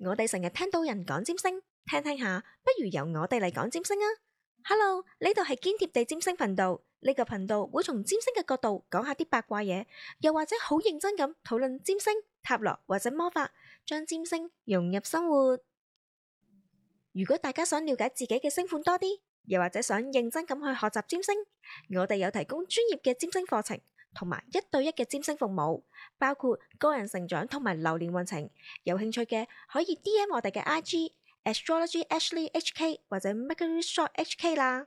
我哋成日聽到人講占星，聽聽下，不如由我哋嚟講占星啊！Hello，呢度係堅貼地占星頻道，呢個頻道會從占星嘅角度講下啲八卦嘢，又或者好認真咁討論占星、塔羅或者魔法，將占星融入生活。如果大家想了解自己嘅星盤多啲，又或者想認真咁去學習占星，我哋有提供專業嘅占星課程，同埋1對1嘅占星服務，包括個人成長同埋流年運程。有興趣嘅可以 DM 我哋嘅 IG Astrology Ashley HK 或者 Mercury Shop HK 啦。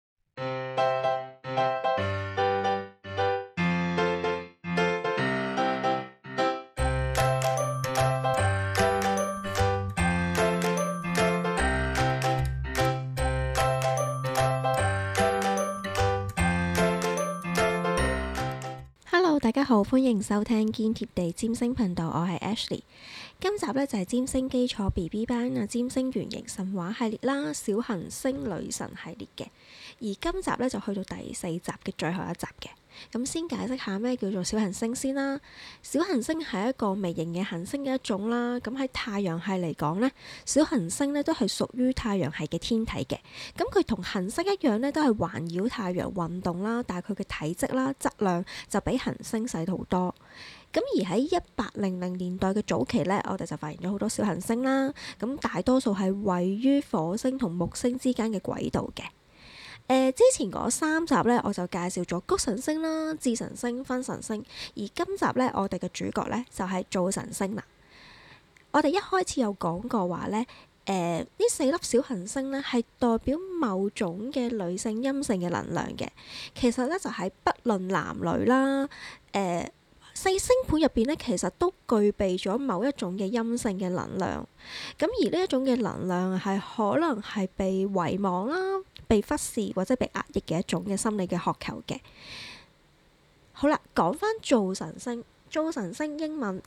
大家好，歡迎收聽堅貼地占星頻道，我係 Ashley。今集呢就係占星基礎 BB 班啊，占星原型神話系列啦，小行星女神系列嘅。而今集呢就去到第4集嘅最後一集嘅。咁先解釋下咩叫做小行星先啦。小行星係一個微型嘅行星嘅一種啦。咁喺太陽系嚟講呢，小行星呢都係屬於太陽系嘅天體嘅。咁佢同行星一樣呢，都係環繞太陽運動啦，但係佢嘅體積啦、質量就比行星細好多。咁而喺1800年代嘅早期呢，我哋就發現咗好多小行星啦。咁大多數係位於火星同木星之間嘅軌道嘅。之前嗰3集呢，我就介紹咗谷神星啦、智神星、分神星，而今集呢，我哋嘅主角呢，就係灶神星啦。我哋一開始有講過話呢，呢4粒小行星呢，係代表某種嘅女性陰性嘅能量嘅。其實呢，就係不論男女啦，4星盤入邊呢，其實都具備咗某一種嘅陰性嘅能量。咁而呢一種嘅能量係可能係被遺忘啦、被忽視或者被壓抑嘅一種嘅心理嘅渴求嘅。好啦，講翻灶神星，灶神星英文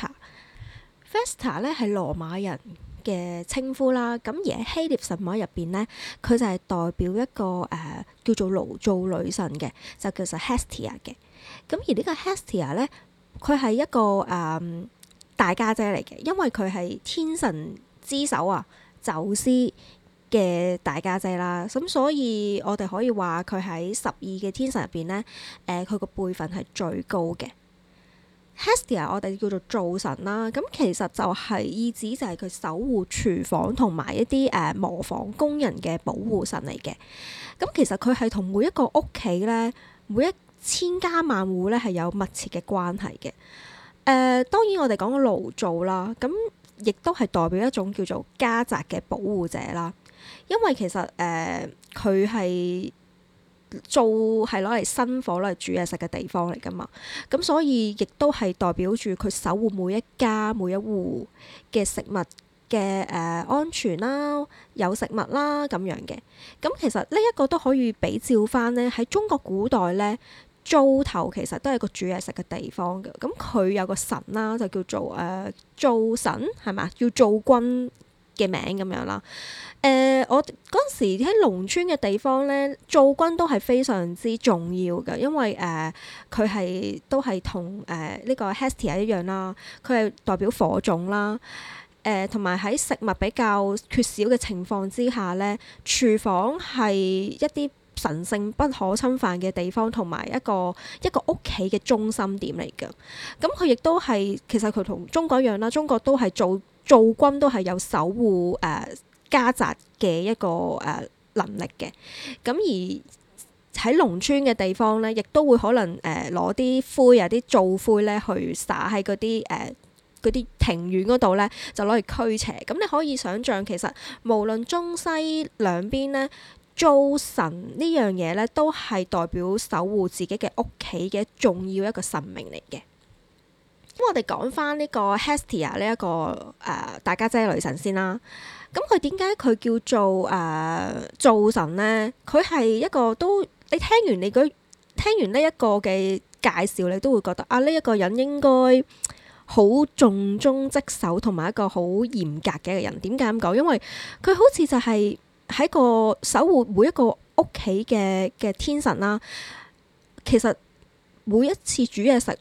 Vesta 呢係羅馬人嘅稱呼啦。咁而喺希臘神話入邊呢，佢就係代表一個叫做爐灶女神嘅，就叫做 Hestia 嘅。咁而呢個 Hestia 呢，佢係一個大家姐嚟嘅，因為佢係天神之首啊，宙斯嘅大家姐啦。咁所以我哋可以話佢喺12嘅天神入邊呢，佢個輩分係最高嘅。Hestia 我哋叫做灶神啦，咁其實就係意指就係佢守護廚房同埋一啲磨坊工人嘅保護神嚟嘅。咁其實佢係同每一個屋企呢，每一千家萬戶咧係有密切嘅關係嘅。當然我哋講個爐灶啦，咁亦都係代表一種叫做家宅嘅保護者啦。因為其實佢係灶係攞嚟生火攞嚟煮嘢食嘅地方嚟噶嘛，咁所以亦都係代表住佢守護每一家每一戶嘅食物嘅安全啦，有食物啦咁樣嘅。咁其實呢一個都可以比照翻呢，喺中國古代呢，灶頭其實都係個煮嘢食嘅地方嘅。咁佢有個神啦，就叫做灶神係咪？叫灶君嘅名咁樣啦。我嗰陣時喺農村嘅地方呢，灶君都係非常之重要嘅，因為佢係都係同呢個 Hestia 一樣啦，佢係代表火種啦。同埋喺食物比較缺少嘅情況之下呢，廚房係一啲神聖不可侵犯嘅地方，同埋一個屋企嘅中心點嚟嘅。咁佢亦都係其實佢同中國一樣啦，中國都係灶君都係有守護家宅嘅一個能力嘅。咁而喺農村嘅地方呢，亦都會可能攞啲灰啊、啲灶灰呢去灑喺嗰啲庭院嗰度呢，就攞嚟驅邪。咁你可以想像，其實無論中西兩邊呢，灶神呢樣嘢呢，都係代表守護自己嘅屋企嘅重要一個神明嚟嘅。咁我哋講翻呢個 Hestia 呢一個大家姐女神先啦。咁佢點解佢叫做灶神呢？佢係一個都你聽完呢一個嘅介紹，你都會覺得呢一個人應該好重中職守，同埋一個好嚴格嘅一個人。點解咁講？因為佢好似就係喺個守護每一個屋企嘅天神啦。其實每一次煮嘢食，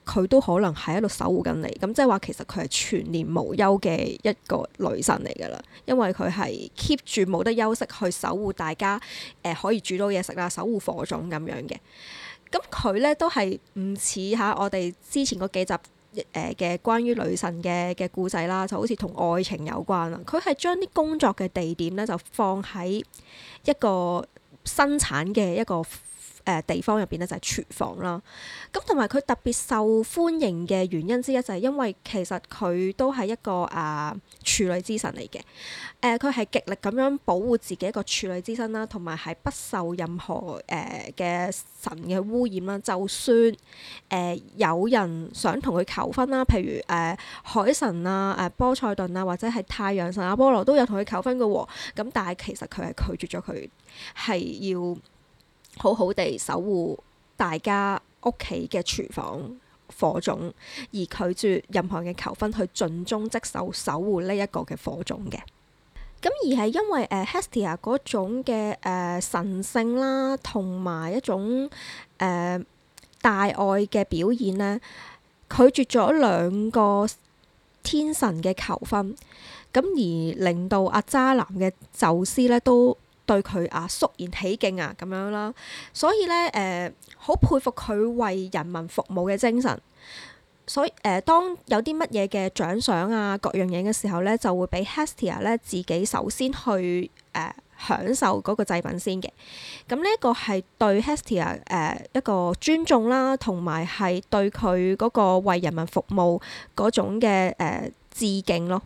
佢都可能喺度守護緊你。咁即係話其實佢係全年無休嘅一個女神嚟㗎啦，因為佢係 keep 住冇得休息去守護大家，可以煮到嘢食啦，守護火種咁樣嘅。咁佢咧都係唔似下我哋之前嗰幾集嘅關於女神嘅故仔啦，就好似同愛情有關啦。佢係將啲工作嘅地點咧就放喺一個生產嘅一個地方入邊咧，就係廚房啦。咁同埋佢特別受歡迎嘅原因之一就係因為其實佢都係一個處女之神嚟嘅。佢係極力咁樣保護自己一個處女之身啦，同埋係不受任何嘅神嘅污染啦。就算有人想同佢求婚啦，譬如海神啊、波塞頓啊，或者係太陽神阿波羅都有同佢求婚嘅喎。咁但係其實佢係拒絕咗佢，係要好好地守護大家屋企嘅廚房火種，而拒絕任何嘅求婚，去盡忠職守守護呢一個嘅火種嘅。咁而係因為Hestia 嗰種嘅神聖啦，同埋一種大愛嘅表現呢，拒絕咗兩個天神嘅求婚，咁而令到渣男嘅宙斯呢都對佢肅然起敬咁樣啦，所以咧好佩服佢為人民服務嘅精神。所以當有啲乜嘢嘅獎賞各樣嘢嘅時候咧，就會俾 Hestia 咧自己首先去享受嗰個祭品先嘅。咁呢一個係對 Hestia 一個尊重啦，同埋係對佢嗰個為人民服務嗰種嘅致敬咯。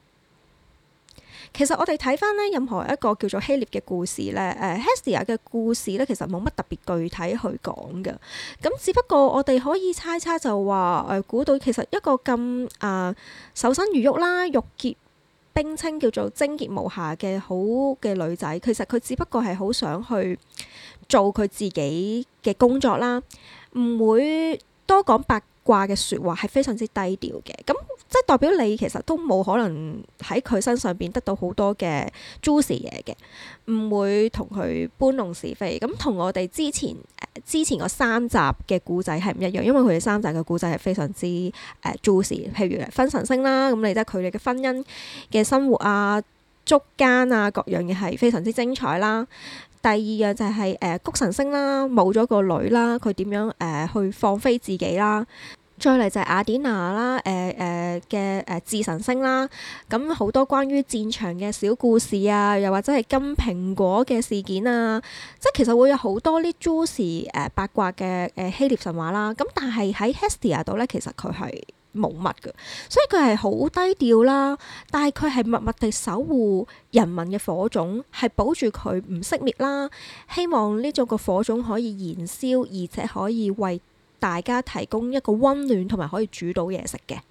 其實我哋睇翻咧，任何一個叫做希臘嘅故事咧，Hestia 嘅故事咧，其實冇乜特別具體去講嘅。咁只不過我哋可以猜測就話估到其實一個咁守身如玉啦、玉潔冰清叫做貞潔無瑕嘅好嘅女仔，其實佢只不過係好想去做佢自己嘅工作啦，唔會多講八卦嘅説話，係非常之低調嘅。咁即係代表你其實都冇可能喺佢身上邊得到好多嘅 juicy 嘢嘅，唔會同佢搬弄是非。咁同我哋之前嗰3集嘅故仔係唔一樣，因為佢哋3集嘅故仔係非常之juicy。譬如分神星啦，咁你即係佢哋嘅婚姻嘅生活捉奸各樣嘢係非常之精彩啦。第二樣就係穀神星啦，冇咗個女啦，佢點樣去放飛自己啦。再嚟就係雅典娜啦，嘅智神星啦，咁好多關於戰場嘅小故事又或者係金蘋果嘅事件即係其實會有好多啲 juicy 八卦嘅希臘神話啦。咁但係喺 Hestia 度咧，其實佢係冇乜嘅，所以佢係好低調啦。但係佢係默默地守護人民嘅火種，係保住佢唔熄滅啦。希望呢種個火種可以燃燒，而且可以為大家提供一個溫暖同埋可以煮到嘢食嘅。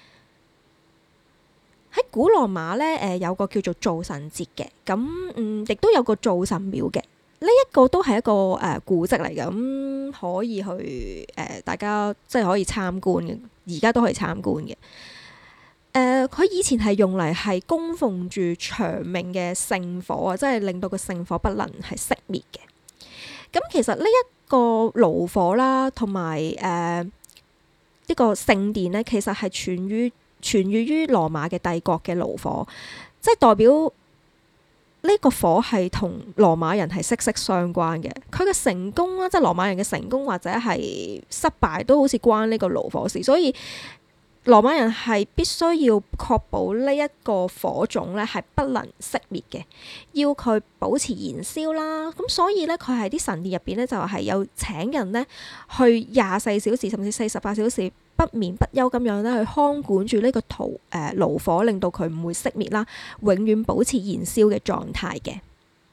喺古羅馬咧，有個叫做灶神節嘅，咁亦都有個灶神廟嘅。呢一個都係一個古蹟嚟嘅，咁可以去大家即係可以參觀嘅，而家都可以參觀嘅。佢以前係用嚟係供奉住長命嘅聖火即係令到個聖火不能係熄滅嘅。咁其實呢一個爐火啦，同埋呢個聖殿咧，其實係傳於羅馬嘅帝國嘅爐火，即係代表呢個火係同羅馬人係息息相關嘅。佢嘅成功啦，即係羅馬人嘅成功或者係失敗，都好似關呢個爐火事。所以羅馬人係必須要確保呢一個火種咧係不能熄滅嘅，要佢保持燃燒啦。咁所以咧，佢喺啲神殿入邊咧就係有請人咧去24小時甚至48小時不眠不休咁樣咧去看管住呢個爐火，令到佢唔會熄滅啦，永遠保持燃燒嘅狀態嘅。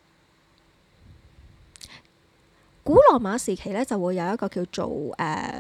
古羅馬時期咧就會有一個叫做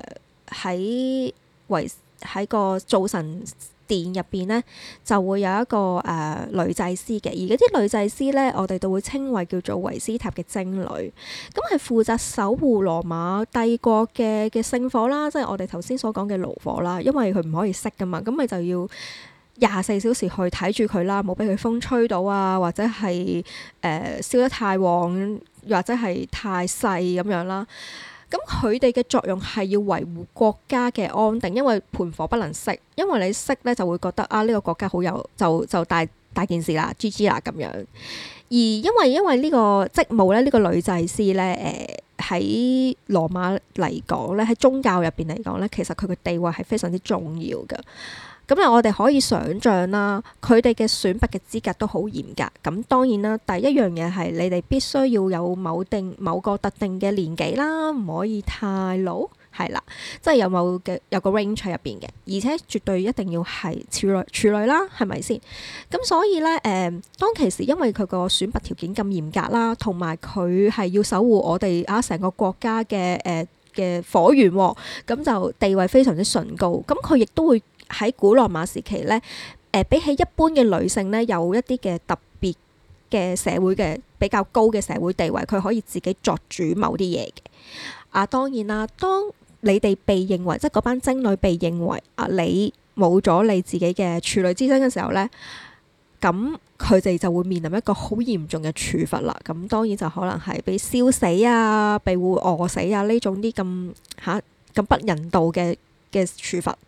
喺個灶神殿入邊咧，就會有一個女祭司嘅，而嗰啲女祭司咧，我哋都會稱為叫做維斯塔嘅貞女，咁係負責守護羅馬帝國嘅聖火啦，即係我哋頭先所講嘅爐火啦，因為佢唔可以熄噶嘛，咁咪就要24小時去睇住佢啦，冇俾佢風吹到或者係燒得太旺，或者係太細咁樣啦。 咁佢哋嘅作用係要維護國家嘅安定，因為盤火不能熄，因為你熄咧就會覺得啊呢個國家好有就大件事啦，GG 啦咁樣。而因為呢個職務咧，呢個女祭司咧，喺羅馬嚟講咧，喺宗教入邊嚟講咧，其實佢嘅地位係非常之重要㗎。咁啊，我哋可以想像啦，佢哋嘅選拔嘅資格都好嚴格。咁當然啦，第一樣嘢係你哋必須要有某個特定嘅年紀啦，唔可以太老，係啦，即係有個 range 喺入邊嘅，而且絕對一定要係處女啦，係咪先？咁所以咧，當其時因為佢個選拔條件咁嚴格啦，同埋佢係要守護我哋成個國家嘅火源喎，咁就地位非常之崇高。咁佢亦都會喺古羅馬時期咧，比起一般嘅女性咧，有一啲嘅特別嘅社會嘅比較高嘅社會地位，佢可以自己作主某啲嘢嘅。當然啦，當你哋被認為即係嗰班精女被認為你冇咗你自己嘅處女之身嘅時候咧，咁佢哋就會面臨一個好嚴重嘅處罰啦。咁當然就可能係被燒死啊，被會餓死啊呢種啲咁不人道嘅處罰。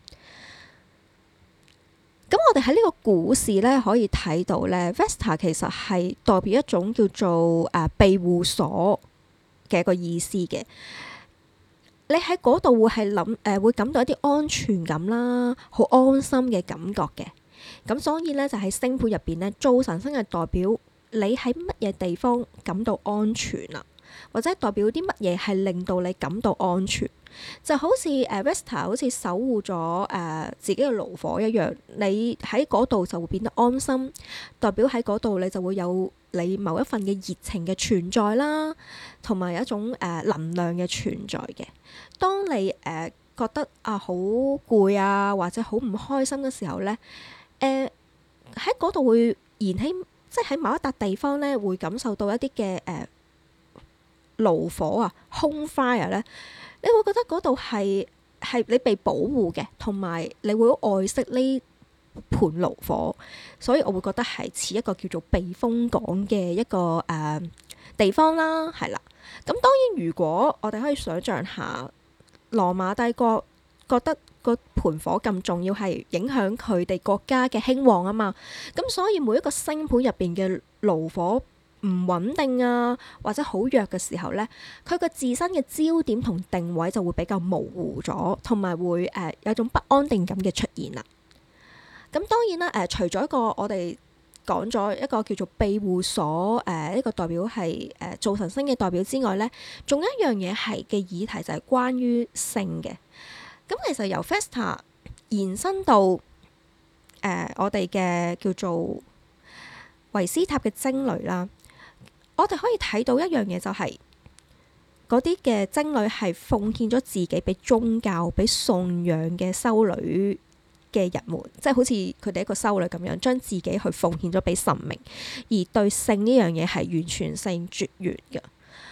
咁我哋喺呢個故事咧可以睇到咧，Vesta 其實係代表一種叫做庇護所嘅一個意思嘅。你喺嗰度會感到一啲安全感啦，好安心嘅感覺嘅。咁所以咧就喺星盤入邊咧，做神星係代表你喺乜嘢地方感到安全啦，或者代表啲乜嘢係令到你感到安全。就好似Vesta 好似守護咗自己嘅爐火一樣，你喺嗰度就會變得安心，代表喺嗰度你就會有你某一份嘅熱情嘅存在啦，同埋有一種能量嘅存在嘅。當你覺得好攰啊，或者好唔開心嘅時候咧，喺嗰度會燃起，即係喺某一笪地方咧會感受到一啲嘅爐火啊，home fire 咧。你會覺得嗰度係你被保護嘅，同埋你會好愛惜呢盤爐火，所以我會覺得係似一個叫做避風港嘅一個地方啦，係啦。咁當然，如果我哋可以想像下，羅馬帝國覺得個盤火咁重要，係影響佢哋國家嘅興旺啊嘛，咁所以每一個星盤入邊嘅爐火唔穩定啊，或者好弱嘅時候呢，佢個自身嘅焦點同定位就會比較模糊咗，同埋會有種不安定感嘅出現啦。咁當然啦，除咗一個我哋講咗一個叫做庇護所，呢個代表係做神星嘅代表之外呢，仲有一樣嘢係嘅議題就係關於性嘅。咁其實由 Vesta 延伸到我哋嘅叫做維斯塔嘅精女啦。我哋可以睇到一樣嘢，就係嗰啲嘅精女係奉獻咗自己俾宗教、俾信仰嘅修女嘅人們，即係好似佢哋一個修女咁樣，將自己去奉獻咗俾神明，而對性呢樣嘢係完全性絕緣嘅。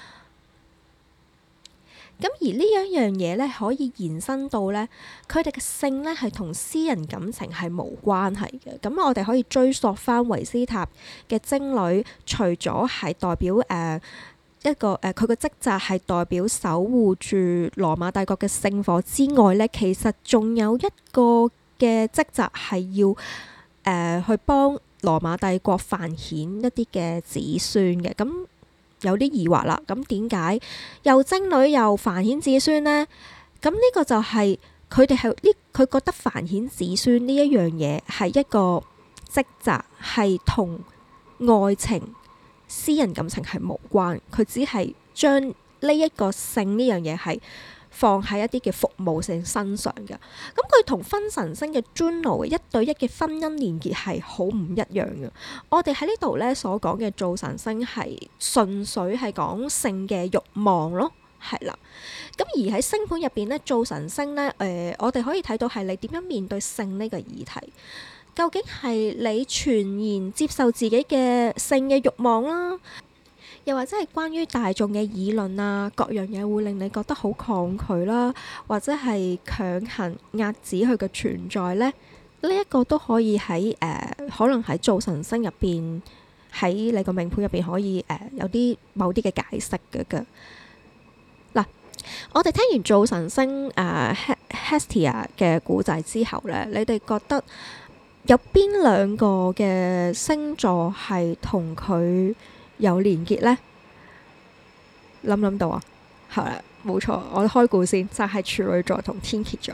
咁而呢一樣嘢咧，可以延伸到咧，佢哋嘅性咧係同私人感情係無關係嘅。咁我哋可以追溯翻維斯塔嘅精女，除咗係代表一個佢嘅職責係代表守護住羅馬帝國嘅聖火之外咧，其實仲有一個嘅職責係要去幫羅馬帝國繁衍一啲嘅子孫嘅。咁有啲疑惑啦，咁點解又精女又繁衍子孫呢？咁呢個就係佢哋係佢覺得繁衍子孫呢一樣嘢係一個職責，係同愛情、私人感情係無關。佢只係將呢一個性呢樣嘢係放喺一啲嘅服務性身上嘅。咁佢同分神星嘅 Juno 一對一嘅婚姻連結係好唔一樣嘅。我哋喺呢度咧所講嘅做神星係純粹係講性嘅慾望咯，係啦。咁而喺星盤入邊咧，做神星咧，我哋可以睇到係你點樣面對性呢個議題。究竟係你全然接受自己嘅性嘅慾望啦，又或者係關於大眾嘅議論啊，各樣嘢會令你覺得好抗拒啦，或者係強行壓止佢嘅存在呢？呢一個都可以喺可能喺做神星入邊，喺你個命盤入邊可以有啲某啲嘅解釋嘅。嗱， 我哋聽完做神星Hestia 嘅故仔之後呢，你哋覺得有邊兩個嘅星座係同佢有連結呢？諗到啊？係啦，冇錯，我開估先，就係處女座同天蠍座。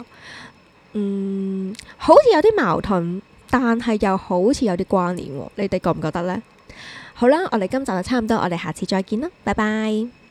好似有啲矛盾，但係又好似有啲關聯喎。你哋覺唔覺得呢？好啦，我哋今集就差唔多，我哋下次再見啦，拜拜。